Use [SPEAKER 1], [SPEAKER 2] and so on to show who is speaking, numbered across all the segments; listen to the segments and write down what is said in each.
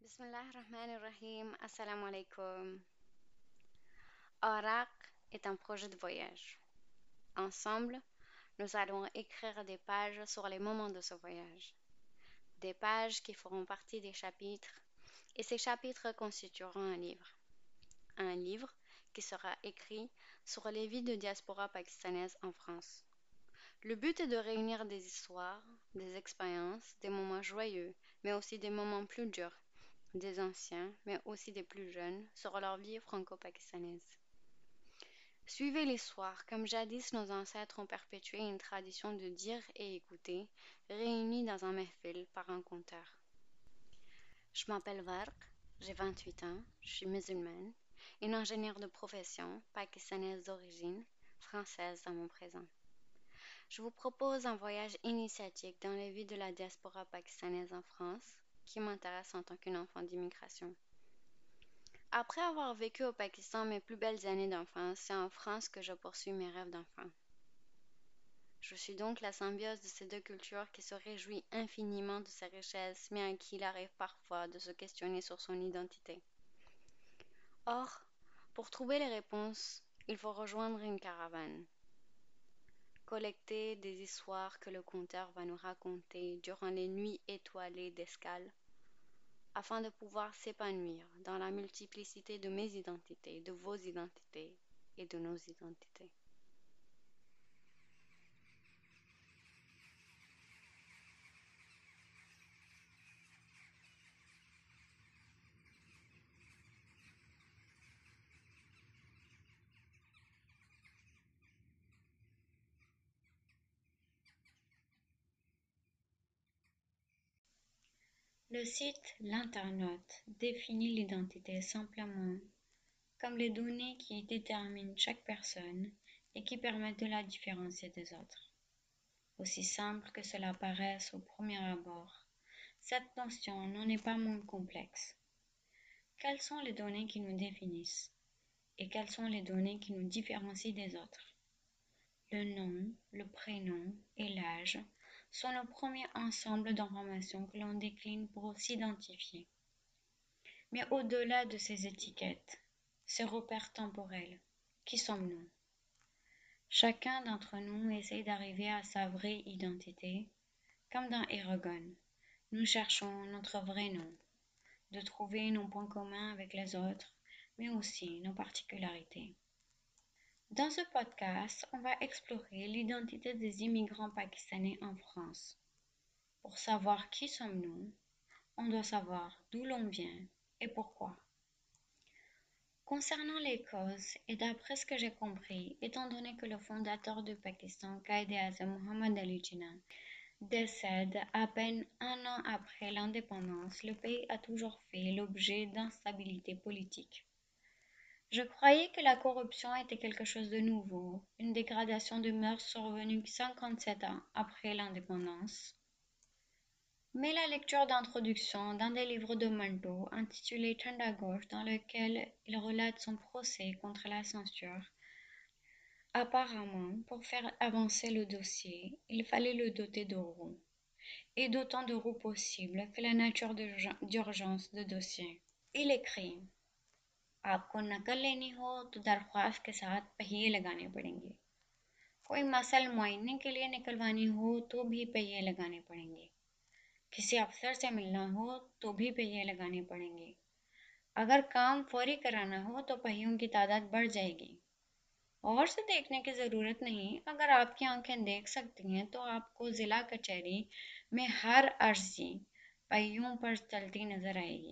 [SPEAKER 1] Bismillah ar-Rahman ar-Rahim. Assalamu alaikum. Arak est un projet de voyage. Ensemble, nous allons écrire des pages sur les moments de ce voyage. Des pages qui feront partie des chapitres, et ces chapitres constitueront un livre. Un livre qui sera écrit sur les vies de diaspora pakistanaise en France. Le but est de réunir des histoires, des expériences, des moments joyeux, mais aussi des moments plus durs, des anciens, mais aussi des plus jeunes, sur leur vie franco-pakistanaise. Suivez l'histoire, comme jadis nos ancêtres ont perpétué une tradition de dire et écouter, réunis dans un mehfil par un conteur. Je m'appelle Varq, j'ai 28 ans, je suis musulmane, une ingénieure de profession, pakistanaise d'origine, française dans mon présent. Je vous propose un voyage initiatique dans les vies de la diaspora pakistanaise en France, qui m'intéresse en tant qu'une enfant d'immigration. Après avoir vécu au Pakistan mes plus belles années d'enfance, c'est en France que je poursuis mes rêves d'enfant. Je suis donc la symbiose de ces deux cultures qui se réjouit infiniment de ses richesses, mais à qui il arrive parfois de se questionner sur son identité. Or, pour trouver les réponses, il faut rejoindre une caravane. Collecter des histoires que le conteur va nous raconter durant les nuits étoilées d'escale, afin de pouvoir s'épanouir dans la multiplicité de mes identités, de vos identités et de nos identités. Le site L'internaute définit l'identité simplement comme les données qui déterminent chaque personne et qui permettent de la différencier des autres. Aussi simple que cela paraisse au premier abord, cette notion n'en est pas moins complexe. Quelles sont les données qui nous définissent et quelles sont les données qui nous différencient des autres? Le nom, le prénom et l'âge sont le premier ensemble d'informations que l'on décline pour s'identifier. Mais au-delà de ces étiquettes, ces repères temporels, qui sommes-nous? Chacun d'entre nous essaie d'arriver à sa vraie identité, comme dans Eragon. Nous cherchons notre vrai nom, de trouver nos points communs avec les autres, mais aussi nos particularités. Dans ce podcast, on va explorer l'identité des immigrants pakistanais en France. Pour savoir qui sommes-nous, on doit savoir d'où l'on vient et pourquoi. Concernant les causes, et d'après ce que j'ai compris, étant donné que le fondateur du Pakistan, Quaid-e-Azam Muhammad Ali Jinnah, décède à peine un an après l'indépendance, le pays a toujours fait l'objet d'instabilité politique. Je croyais que la corruption était quelque chose de nouveau, une dégradation de mœurs survenue 57 ans après l'indépendance. Mais la lecture d'introduction d'un des livres de Manto, intitulé Thanda Ghosh, dans lequel il relate son procès contre la censure, apparemment, pour faire avancer le dossier, il fallait le doter de roues, et d'autant de roues possibles que la nature d'urgence de dossier. Il écrit आपको नकल लेनी हो तो दरख्वास्त के साथ पहिए लगाने पड़ेंगे कोई मसल मुआयने के लिए निकलवानी हो तो भी पहिए लगाने पड़ेंगे किसी अफसर से मिलना हो तो भी पहिए लगाने पड़ेंगे अगर काम फौरी कराना हो तो पहियों की तादाद बढ़ जाएगी और से देखने की ज़रूरत नहीं अगर आपकी आंखें देख सकती हैं तो आपको ज़िला कचहरी में हर अर्जी पहियों पर चलती नज़र आएगी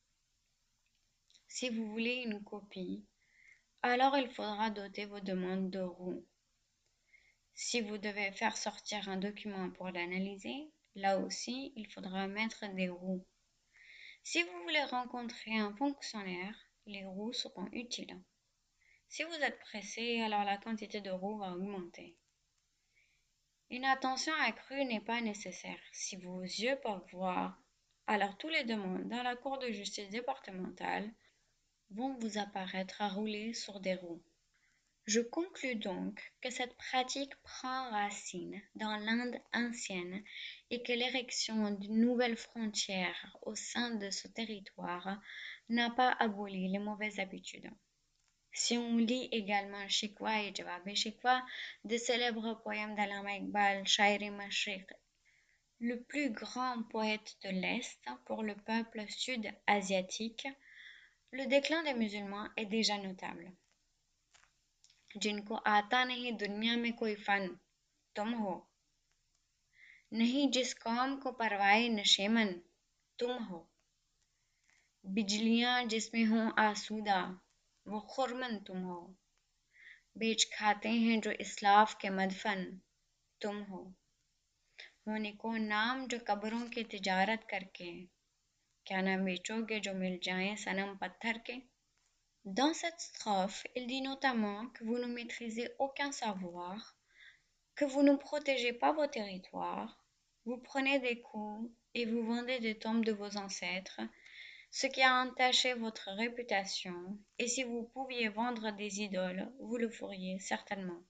[SPEAKER 1] Si vous voulez une copie, alors il faudra doter vos demandes de roues. Si vous devez faire sortir un document pour l'analyser, là aussi, il faudra mettre des roues. Si vous voulez rencontrer un fonctionnaire, les roues seront utiles. Si vous êtes pressé, alors la quantité de roues va augmenter. Une attention accrue n'est pas nécessaire. Si vos yeux peuvent voir, alors tous les demandes dans la Cour de justice départementale vont vous apparaître à rouler sur des roues.
[SPEAKER 2] Je conclus donc que cette pratique prend racine dans l'Inde ancienne et que l'érection d'une nouvelle frontière au sein de ce territoire n'a pas aboli les mauvaises habitudes. Si on lit également Shikwa et Jawab Shikwa, des célèbres poèmes d'Allama Iqbal, Shairi Mashriq, le plus grand poète de l'Est pour le peuple sud-asiatique, le déclin des musulmans est déjà notable. जिनको आता नहीं दुनिया में कोई फन तुम हो नहीं जिस कौम को परवाए नशेमन तुम हो बिजलियां जिसमें हों आसूदा वो खुरमन तुम हो बेच खाते हैं जो इस्लाफ के मदफन तुम हो होने को नाम जो कब्रों की तिजारत करके क्या ना बेचोगे जो मिल जाएं सनम पत्थर के. Dans cette strophe, il dit notamment que vous ne maîtrisez aucun savoir, que vous ne protégez pas vos territoires, vous prenez des coups et vous vendez des tombes de vos ancêtres, ce qui a entaché votre réputation, et si vous pouviez vendre des idoles, vous le feriez certainement.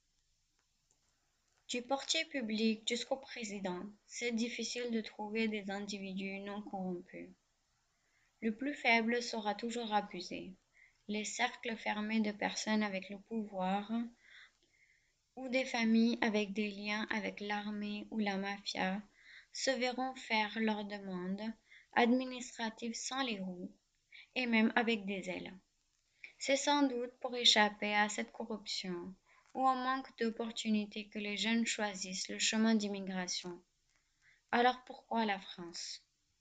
[SPEAKER 2] Du portier public jusqu'au président, c'est difficile de trouver des individus non corrompus. Le plus faible sera toujours abusé. Les cercles fermés de personnes avec le pouvoir ou des familles avec des liens avec l'armée ou la mafia se verront faire leurs demandes administratives sans les roues et même avec des ailes. C'est sans doute pour échapper à cette corruption ou au manque d'opportunités que les jeunes choisissent le chemin d'immigration. Alors pourquoi la France?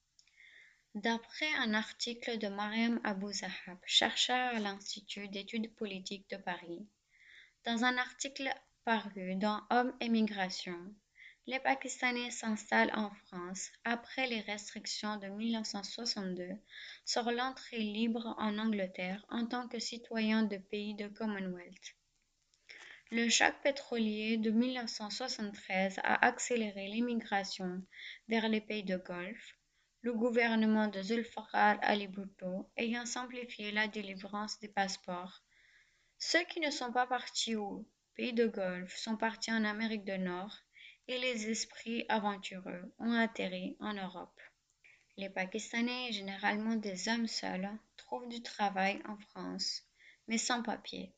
[SPEAKER 2] D'après un article de Mariam Abou Zahab, chercheur à l'Institut d'études politiques de Paris, dans un article paru dans Hommes et Migration, les Pakistanais s'installent en France après les restrictions de 1962 sur l'entrée libre en Angleterre en tant que citoyens de pays de Commonwealth. Le choc pétrolier de 1973 a accéléré l'immigration vers les pays de Golfe, le gouvernement de Zulfikar Ali Bhutto ayant simplifié la délivrance des passeports. Ceux qui ne sont pas partis aux pays de Golfe sont partis en Amérique du Nord et les esprits aventureux ont atterri en Europe. Les Pakistanais, généralement des hommes seuls, trouvent du travail en France, mais sans papier.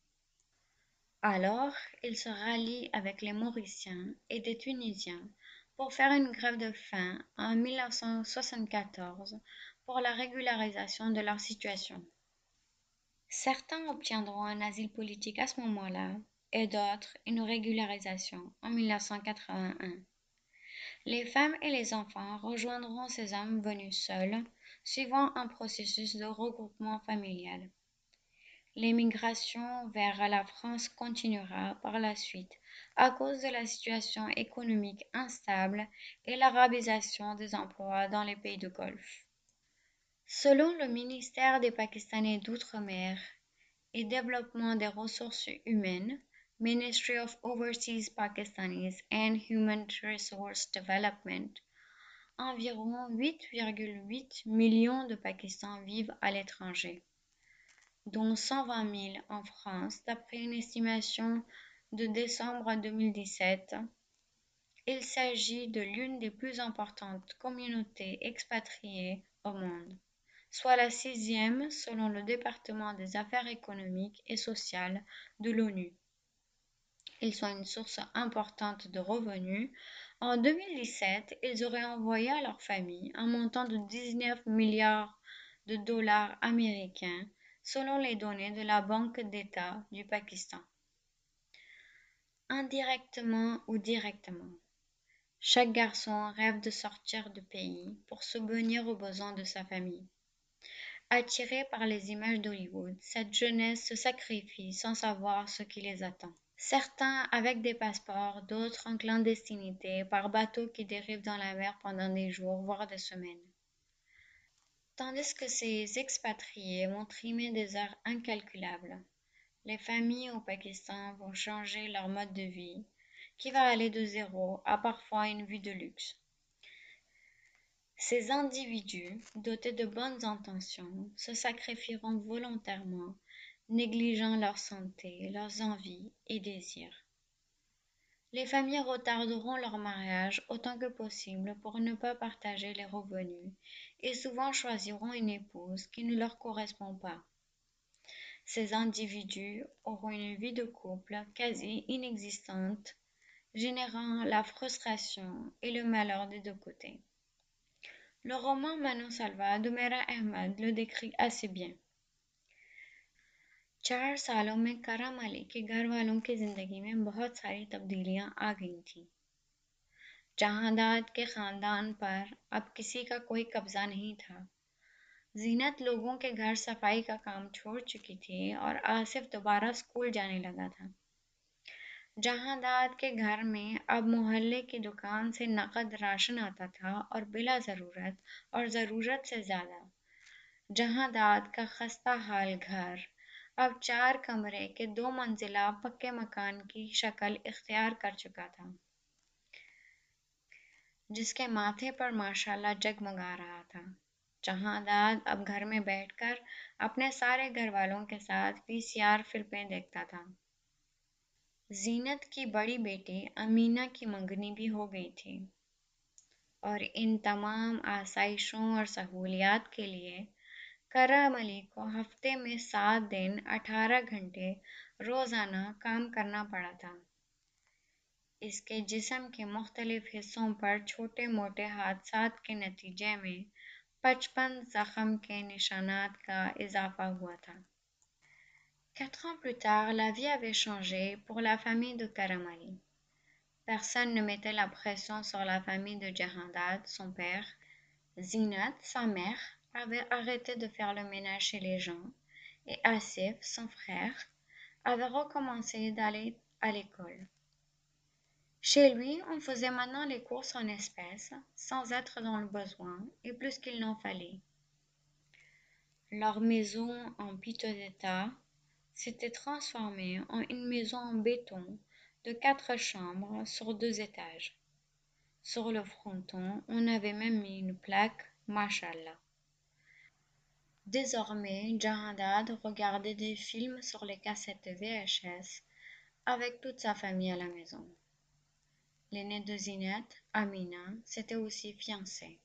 [SPEAKER 2] Alors, ils se rallient avec les Mauriciens et des Tunisiens pour faire une grève de faim en 1974 pour la régularisation de leur situation. Certains obtiendront un asile politique à ce moment-là et d'autres une régularisation en 1981. Les femmes et les enfants rejoindront ces hommes venus seuls, suivant un processus de regroupement familial. L'émigration vers la France continuera par la suite à cause de la situation économique instable et l'arabisation des emplois dans les pays de Golfe. Selon le ministère des Pakistanais d'Outre-mer et Développement des ressources humaines, Ministry of Overseas Pakistanis and Human Resource Development, environ 8,8 millions de Pakistans vivent à l'étranger, dont 120 000 en France, d'après une estimation de décembre 2017. Il s'agit de l'une des plus importantes communautés expatriées au monde, soit la 6e selon le département des affaires économiques et sociales de l'ONU. Ils sont une source importante de revenus. En 2017, ils auraient envoyé à leurs familles un montant de 19 milliards de dollars américains, selon les données de la Banque d'État du Pakistan. Indirectement ou directement, chaque garçon rêve de sortir du pays pour subvenir aux besoins de sa famille. Attirés par les images d'Hollywood, cette jeunesse se sacrifie sans savoir ce qui les attend. Certains avec des passeports, d'autres en clandestinité, par bateau qui dérive dans la mer pendant des jours, voire des semaines. Tandis que ces expatriés vont trimer des heures incalculables, les familles au Pakistan vont changer leur mode de vie, qui va aller de zéro à parfois une vie de luxe. Ces individus, dotés de bonnes intentions, se sacrifieront volontairement, négligeant leur santé, leurs envies et désirs. Les familles retarderont leur mariage autant que possible pour ne pas partager les revenus et souvent choisiront une épouse qui ne leur correspond pas. Ces individus auront une vie de couple quasi inexistante, générant la frustration et le malheur des deux côtés. Le roman Mano Salva de Mera Ahmed le décrit assez bien. 4 सालों में करम अली के घर वालों की जिंदगी में बहुत सारी तब्दीलियां आ गई थीं। जहांदाद के खानदान पर अब किसी का कोई कब्जा नहीं था। जीनत लोगों के घर सफाई का काम छोड़ चुकी थी और आसिफ दोबारा स्कूल जाने लगा था। जहांदाद के घर में अब मोहल्ले की दुकान से नकद राशन आता था और बिला ज़रूरत और ज़रूरत से ज़्यादा। जहांदाद का खस्ता हाल घर अब 4 कमरे के 2 मंजिला पक्के मकान की शक्ल इख्तियार कर चुका था, जिसके माथे पर माशाल्लाह जगमगा रहा था। जहांदाद अब घर में बैठकर अपने सारे घर वालों के साथ वीसीआर फिल्में देखता था। जीनत की बड़ी बेटी अमीना की मंगनी भी हो गई थी और इन तमाम आसाइशों और सहूलियात के लिए करम अली को हफ्ते में 7 दिन 18 घंटे रोज़ाना काम करना पड़ा था। इसके जिस्म के मुख्तलिफ हिस्सों पर छोटे-मोटे हादसात के नतीजे में 55 ज़ख्म के निशानात का इजाफा हुआ था। 4 ans plus tard, la vie avait changé pour la famille de Karam Ali. Personne ne mettait la pression sur la famille de Jahandad, son père. Zinat, sa mère, avait arrêté de faire le ménage chez les gens et Asif, son frère, avait recommencé d'aller à l'école. Chez lui, on faisait maintenant les courses en espèces, sans être dans le besoin, et plus qu'il n'en fallait. Leur maison en piteux état s'était transformée en une maison en béton de 4 chambres sur 2 étages. Sur le fronton, on avait même mis une plaque Mashallah. Désormais, Jahandad regardait des films sur les cassettes VHS avec toute sa famille à la maison. L'aînée de Zinat, Amina, s'était aussi fiancée.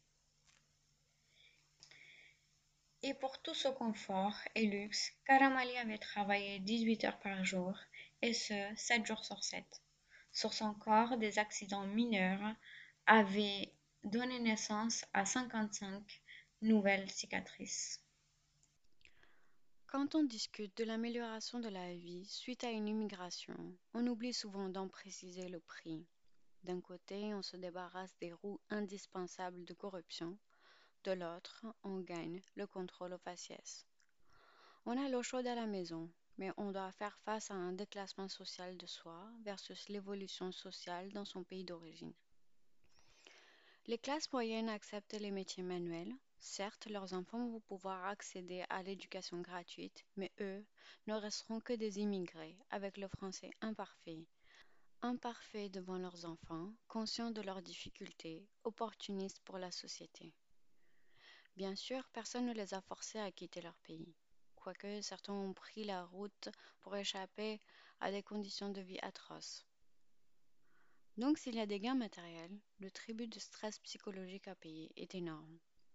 [SPEAKER 2] Et pour tout ce confort et luxe, Karam Ali avait travaillé 18 heures par jour, et ce, 7 jours sur 7. Sur son corps, des accidents mineurs avaient donné naissance à 55 nouvelles cicatrices.
[SPEAKER 1] Quand on discute de l'amélioration de la vie suite à une immigration, on oublie souvent d'en préciser le prix. D'un côté, on se débarrasse des roues indispensables de corruption, de l'autre, on gagne le contrôle au faciès. On a l'eau chaude à la maison, mais on doit faire face à un déclassement social de soi versus l'évolution sociale dans son pays d'origine. Les classes moyennes acceptent les métiers manuels. Certes, leurs enfants vont pouvoir accéder à l'éducation gratuite, mais eux ne resteront que des immigrés avec le français imparfait. Imparfaits devant leurs enfants, conscients de leurs difficultés, opportunistes pour la société. Bien sûr, personne ne les a forcés à quitter leur pays, quoique certains ont pris la route pour échapper à des conditions de vie atroces. Donc s'il y a des gains matériels, le tribut de stress psychologique à payer est énorme.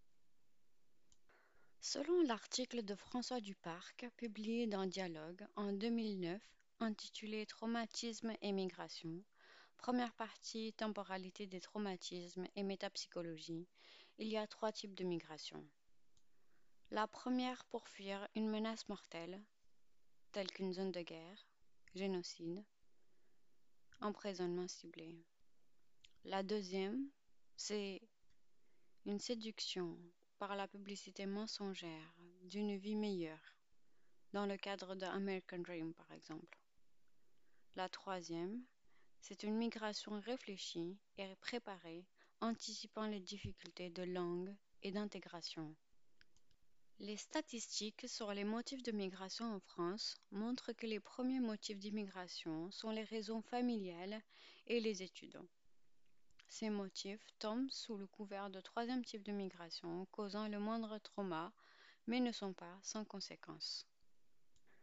[SPEAKER 1] Selon l'article de François Duparc, publié dans Dialogue en 2009, intitulé Traumatisme et migration, première partie Temporalité des traumatismes et métapsychologie, il y a 3 types de migration. La première pour fuir une menace mortelle, telle qu'une zone de guerre, génocide, emprisonnement ciblé. La deuxième, c'est une séduction par la publicité mensongère d'une vie meilleure, dans le cadre de American Dream par exemple. La troisième, c'est une migration réfléchie et préparée, anticipant les difficultés de langue et d'intégration. Les statistiques sur les motifs de migration en France montrent que les premiers motifs d'immigration sont les raisons familiales et les études. Ces motifs tombent sous le couvert de troisième type de migration, causant le moindre trauma, mais ne sont pas sans conséquences.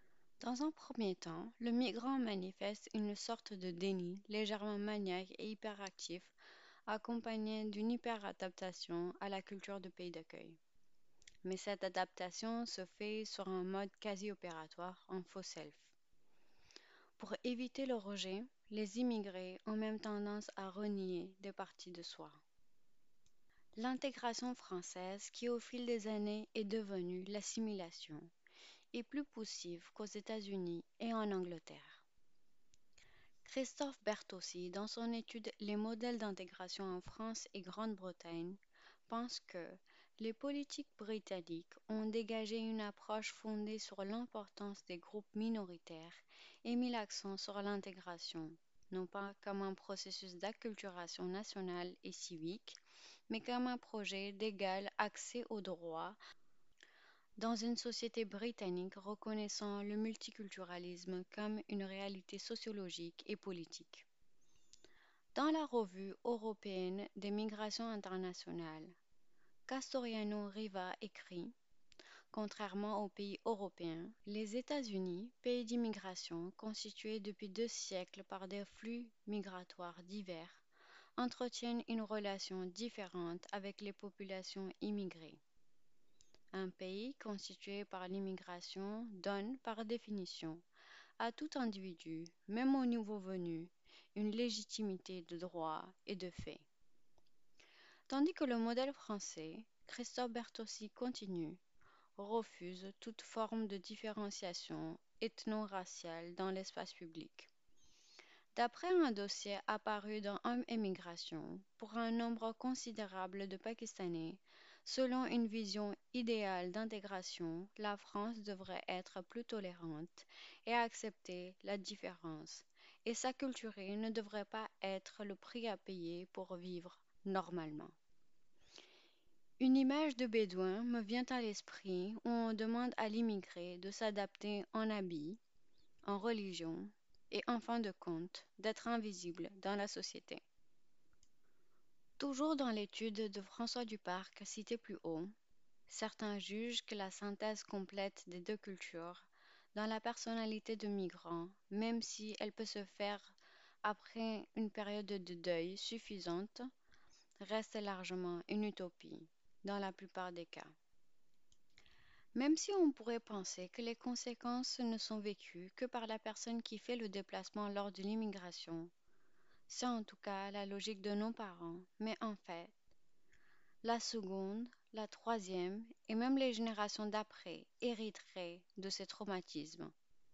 [SPEAKER 1] Dans un premier temps, le migrant manifeste une sorte de déni légèrement maniaque et hyperactif, accompagné d'une hyperadaptation à la culture du pays d'accueil. Mais cette adaptation se fait sur un mode quasi opératoire en faux self. Pour éviter le rejet, les immigrés ont même tendance à renier des parties de soi. L'intégration française, qui au fil des années est devenue l'assimilation, est plus poussive qu'aux États-Unis et en Angleterre. Christophe Bertossi, dans son étude Les modèles d'intégration en France et Grande-Bretagne, pense que les politiques britanniques ont dégagé une approche fondée sur l'importance des groupes minoritaires et mis l'accent sur l'intégration, non pas comme un processus d'acculturation nationale et civique, mais comme un projet d'égal accès aux droits dans une société britannique reconnaissant le multiculturalisme comme une réalité sociologique et politique. Dans la Revue européenne des migrations internationales, Castoriano Riva écrit: contrairement aux pays européens, les États-Unis, pays d'immigration constitués depuis 2 siècles par des flux migratoires divers, entretiennent une relation différente avec les populations immigrées. Un pays constitué par l'immigration donne, par définition, à tout individu, même au nouveau venu, une légitimité de droit et de fait. Tandis que le modèle français, Christophe Bertossi continue, refuse toute forme de différenciation ethno-raciale dans l'espace public. D'après un dossier apparu dans Hommes et Migration, pour un nombre considérable de Pakistanais, selon une vision idéale d'intégration, la France devrait être plus tolérante et accepter la différence, et s'acculturer ne devrait pas être le prix à payer pour vivre normalement. Une image de bédouin me vient à l'esprit où on demande à l'immigré de s'adapter en habit, en religion et en fin de compte d'être invisible dans la société. Toujours dans l'étude de François Duparc citée plus haut, certains jugent que la synthèse complète des deux cultures dans la personnalité de migrant, même si elle peut se faire après une période de deuil suffisante, reste largement une utopie dans la plupart des cas. Même si on pourrait penser que les conséquences ne sont vécues que par la personne qui fait le déplacement lors de l'immigration, c'est en tout cas la logique de nos parents, mais en fait, la seconde, la troisième et même les générations d'après hériteraient de ces traumatismes.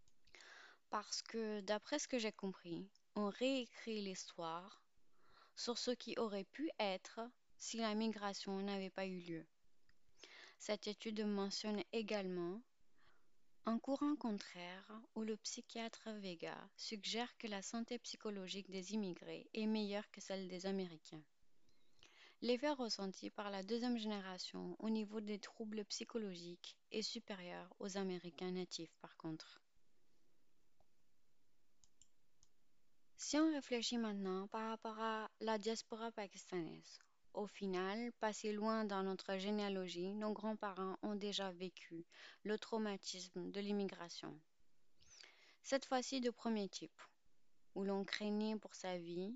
[SPEAKER 1] Parce que, d'après ce que j'ai compris, on réécrit l'histoire sur ce qui aurait pu être si la migration n'avait pas eu lieu. Cette étude mentionne également un courant contraire où le psychiatre Vega suggère que la santé psychologique des immigrés est meilleure que celle des Américains. L'effet ressenti par la deuxième génération au niveau des troubles psychologiques est supérieur aux Américains natifs par contre. Si on réfléchit maintenant par rapport à la diaspora pakistanaise, au final, pas si loin dans notre généalogie, nos grands-parents ont déjà vécu le traumatisme de l'immigration. Cette fois-ci de premier type, où l'on craignait pour sa vie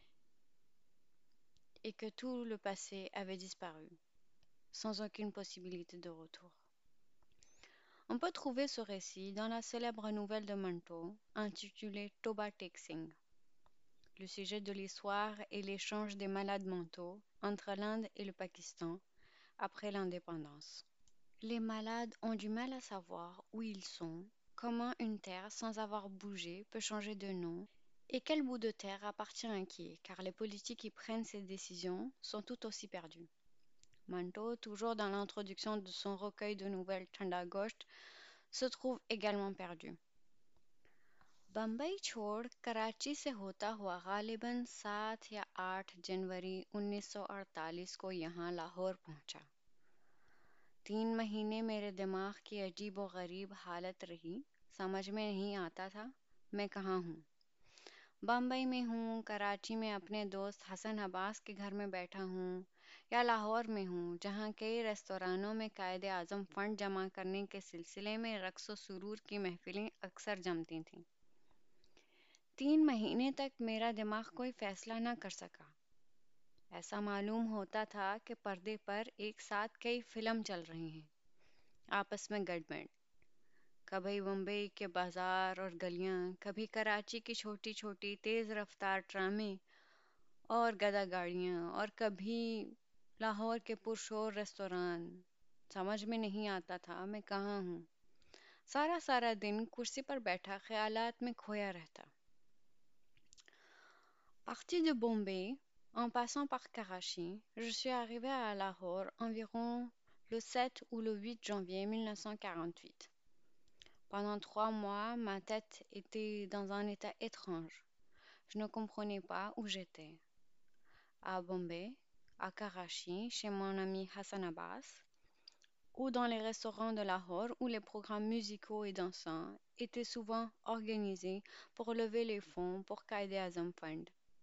[SPEAKER 1] et que tout le passé avait disparu, sans aucune possibilité de retour. On peut trouver ce récit dans la célèbre nouvelle de Manto intitulée Toba Tek-Singh. Le sujet de l'histoire est l'échange des malades mentaux entre l'Inde et le Pakistan après l'indépendance. Les malades ont du mal à savoir où ils sont, comment une terre sans avoir bougé peut changer de nom et quel bout de terre appartient à qui, car les politiques qui prennent ces décisions sont tout aussi perdus. Manto, toujours dans l'introduction de son recueil de nouvelles Thanda Gosht, se trouve également perdu. Bombay छोड़ कराची से होता हुआ गालिबन 7 या 8 जनवरी 1948 को यहाँ लाहौर पहुँचा। 3 महीने मेरे दिमाग की अजीब व गरीब हालत रही, समझ में नहीं आता था मैं कहाँ हूँ। बम्बई में हूँ, कराची में अपने दोस्त हसन अब्बास के घर में बैठा हूँ या लाहौर में हूँ जहाँ कई रेस्तोरानों में कायदे आज़म फंड जमा करने के सिलसिले में रक्स व सुरूर की महफिलें अक्सर जमती थीं। 3 महीने तक मेरा दिमाग कोई फैसला न कर सका। ऐसा मालूम होता था कि पर्दे पर एक साथ कई फिल्म चल रही हैं, आपस में गड़बड़। कभी मुंबई के बाजार और गलियां, कभी कराची की छोटी छोटी तेज रफ्तार ट्रामें और गदा गाड़ियां, और कभी लाहौर के पुरशोर रेस्तोरां। समझ में नहीं आता था मैं कहाँ हूँ। सारा सारा दिन कुर्सी पर बैठा ख्यालात में खोया रहता। Parti de Bombay, en passant par Karachi, je suis arrivé à Lahore environ le 7 ou le 8 janvier 1948. Pendant 3 mois, ma tête était dans un état étrange. Je ne comprenais pas où j'étais. À Bombay, à Karachi, chez mon ami Hassan Abbas, ou dans les restaurants de Lahore où les programmes musicaux et dansants étaient souvent organisés pour lever les fonds pour Qaïd Azam Fund.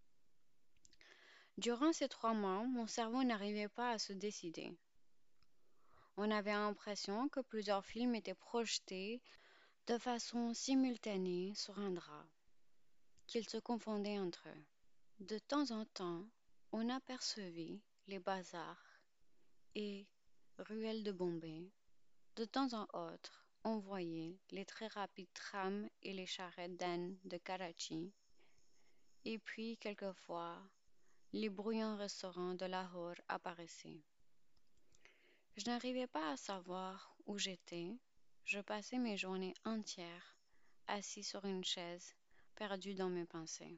[SPEAKER 1] Durant ces 3 mois, mon cerveau n'arrivait pas à se décider. On avait l'impression que plusieurs films étaient projetés de façon simultanée sur un drap, qu'ils se confondaient entre eux. De temps en temps, on apercevait les bazars et ruelles de Bombay. De temps en autre, on voyait les très rapides trams et les charrettes d'ânes de Karachi, et puis quelquefois, les bruyants restaurants de Lahore apparaissaient. Je n'arrivais pas à savoir où j'étais. Je passais mes journées entières assis sur une chaise, perdu dans mes pensées.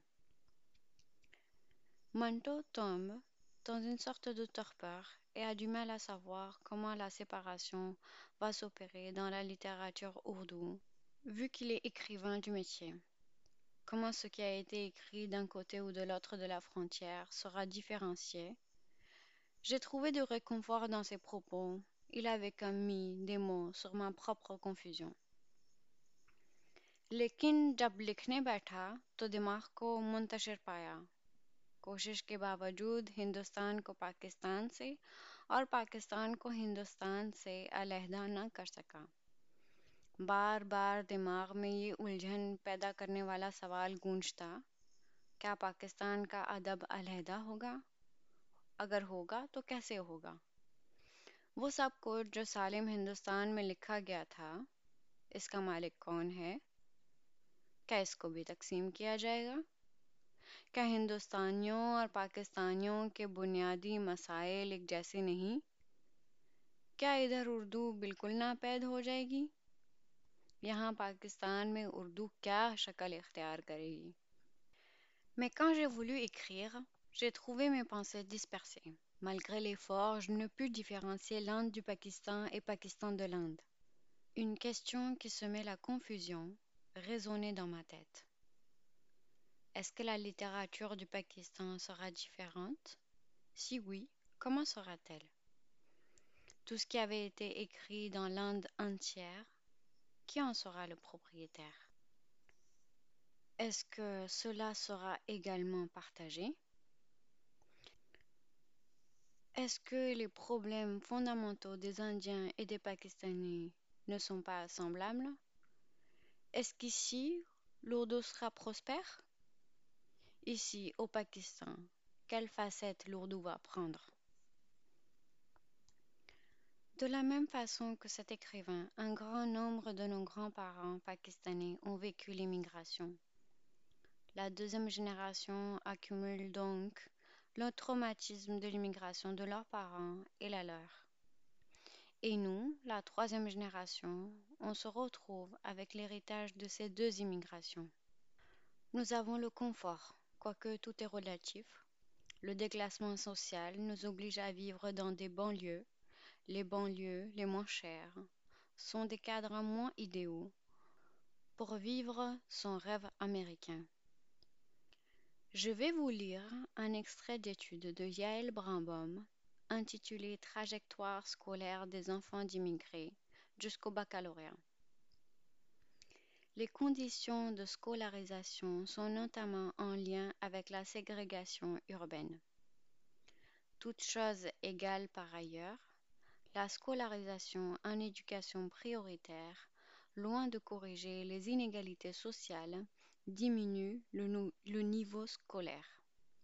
[SPEAKER 1] Manto tombe dans une sorte de torpeur et a du mal à savoir comment la séparation va s'opérer dans la littérature ourdou, vu qu'il est écrivain du métier. Comment ce qui a été écrit d'un côté ou de l'autre de la frontière sera différencié. J'ai trouvé du réconfort dans ses propos. Il avait comme mis des mots sur ma propre confusion. लेकिन जब लिखने बैठा तो दिमाग को मुंतशिर पाया। कोशिश के बावजूद हिंदुस्तान को पाकिस्तान से और पाकिस्तान को हिंदुस्तान से अलहदा न कर सका। बार बार दिमाग में ये उलझन पैदा करने वाला सवाल गूंजता, क्या पाकिस्तान का अदब अलहदा होगा? अगर होगा तो कैसे होगा? वो सब कुछ जो सालिम हिंदुस्तान में लिखा गया था, इसका मालिक कौन है? क्या इसको भी तकसीम किया जाएगा? क्या हिंदुस्तानियों और पाकिस्तानियों के बुनियादी मसाइल एक जैसे नहीं? क्या इधर उर्दू बिल्कुल नापैद हो जाएगी? यहाँ पाकिस्तान में उर्दू क्या शक्ल इख्तियार करेगी? Mais quand j'ai voulu écrire, j'ai trouvé mes pensées dispersées. Malgré l'effort, je ne pus différencier l'Inde du Pakistan et Pakistan de l'Inde. Une question qui semait la confusion résonnait dans ma tête. Est-ce que la littérature du Pakistan sera différente? Si oui, comment sera-t-elle? Tout ce qui avait été écrit dans l'Inde entière, qui en sera le propriétaire? Est-ce que cela sera également partagé? Est-ce que les problèmes fondamentaux des Indiens et des Pakistanais ne sont pas semblables? Est-ce qu'ici, l'Urdu sera prospère? Ici, au Pakistan, quelle facette l'Urdu va prendre? De la même façon que cet écrivain, un grand nombre de nos grands-parents pakistanais ont vécu l'immigration. La deuxième génération accumule donc le traumatisme de l'immigration de leurs parents et la leur. Et nous, la troisième génération, on se retrouve avec l'héritage de ces deux immigrations. Nous avons le confort, quoique tout est relatif. Le déclassement social nous oblige à vivre dans des banlieues. Les banlieues les moins chères sont des cadres moins idéaux pour vivre son rêve américain. Je vais vous lire un extrait d'étude de Yael Brambom intitulé Trajectoire scolaire des enfants d'immigrés jusqu'au baccalauréat. Les conditions de scolarisation sont notamment en lien avec la ségrégation urbaine. toutes choses égales par ailleurs, la scolarisation en éducation prioritaire, loin de corriger les inégalités sociales, diminue le niveau scolaire.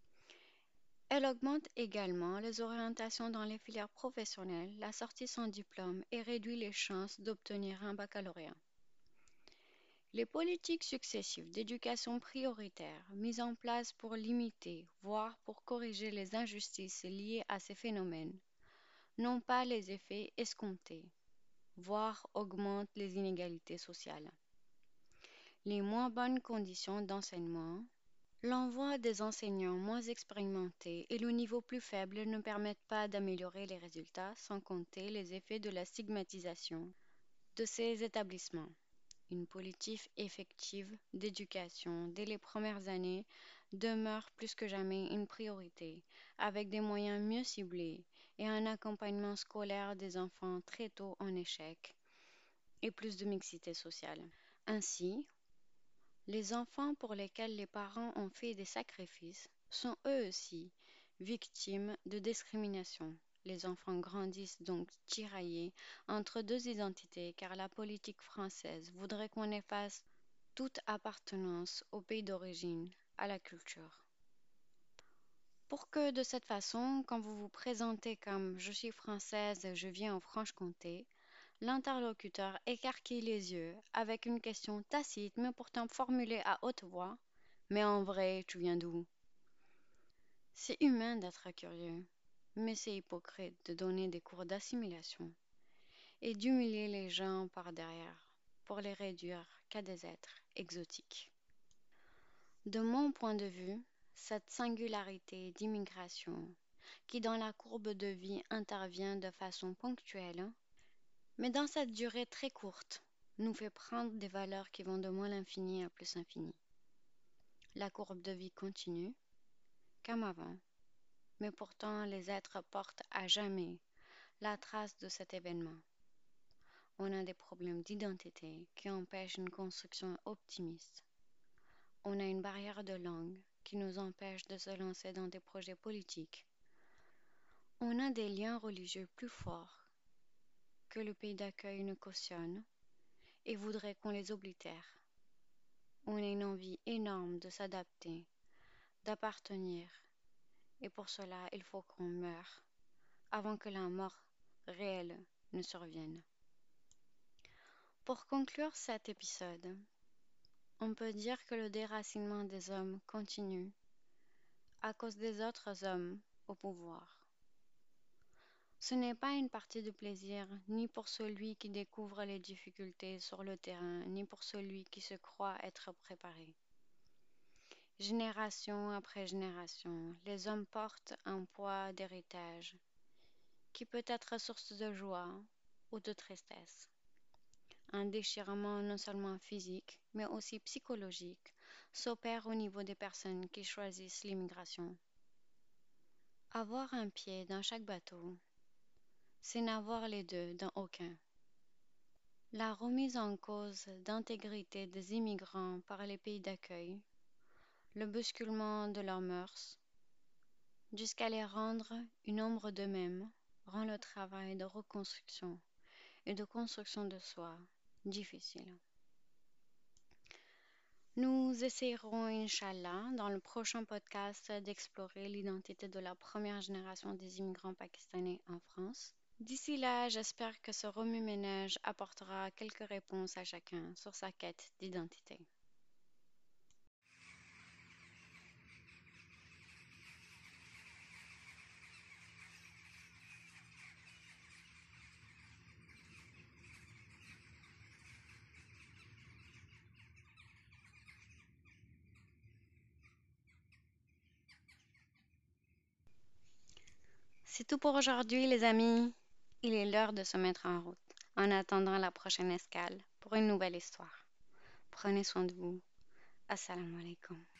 [SPEAKER 1] Elle augmente également les orientations dans les filières professionnelles, la sortie sans diplôme et réduit les chances d'obtenir un baccalauréat. Les politiques successives d'éducation prioritaire mises en place pour limiter, voire pour corriger les injustices liées à ces phénomènes, n'ont pas les effets escomptés, voire augmentent les inégalités sociales. Les moins bonnes conditions d'enseignement, l'envoi des enseignants moins expérimentés et le niveau plus faible ne permettent pas d'améliorer les résultats, sans compter les effets de la stigmatisation de ces établissements. Une politique effective d'éducation dès les premières années demeure plus que jamais une priorité, avec des moyens mieux ciblés et un accompagnement scolaire des enfants très tôt en échec et plus de mixité sociale. Ainsi, les enfants pour lesquels les parents ont fait des sacrifices sont eux aussi victimes de discrimination. Les enfants grandissent donc tiraillés entre deux identités car la politique française voudrait qu'on efface toute appartenance au pays d'origine, à la culture. Pour que de cette façon, quand vous vous présentez comme je suis française, je viens en Franche-Comté, l'interlocuteur écarquille les yeux avec une question tacite mais pourtant formulée à haute voix. Mais en vrai, tu viens d'où? C'est humain d'être curieux, mais c'est hypocrite de donner des cours d'assimilation et d'humilier les gens par derrière pour les réduire qu'à des êtres exotiques. De mon point de vue, cette singularité d'immigration, qui dans la courbe de vie intervient de façon ponctuelle, mais dans cette durée très courte, nous fait prendre des valeurs qui vont de moins l'infini à plus infini. La courbe de vie continue, comme avant, mais pourtant les êtres portent à jamais la trace de cet événement. On a des problèmes d'identité qui empêchent une construction optimiste. On a une barrière de langue qui nous empêche de se lancer dans des projets politiques. On a des liens religieux plus forts que le pays d'accueil ne cautionne et voudrait qu'on les oblitère. On a une envie énorme de s'adapter, d'appartenir, et pour cela il faut qu'on meure avant que la mort réelle ne survienne. Pour conclure cet épisode, on peut dire que le déracinement des hommes continue à cause des autres hommes au pouvoir. Ce n'est pas une partie de plaisir ni pour celui qui découvre les difficultés sur le terrain, ni pour celui qui se croit être préparé. Génération après génération, les hommes portent un poids d'héritage qui peut être source de joie ou de tristesse. Un déchirement non seulement physique, mais aussi psychologique, s'opère au niveau des personnes qui choisissent l'immigration. Avoir un pied dans chaque bateau, c'est n'avoir les deux dans aucun. La remise en cause d'intégrité des immigrants par les pays d'accueil, le bousculement de leurs mœurs, jusqu'à les rendre une ombre d'eux-mêmes, rend le travail de reconstruction et de construction de soi difficile. Nous essayerons, Inch'Allah, dans le prochain podcast, d'explorer l'identité de la première génération des immigrants pakistanais en France. D'ici là, j'espère que ce remue-ménage apportera quelques réponses à chacun sur sa quête d'identité. C'est tout pour aujourd'hui, les amis. Il est l'heure de se mettre en route, en attendant la prochaine escale pour une nouvelle histoire. Prenez soin de vous. Assalamu alaikum.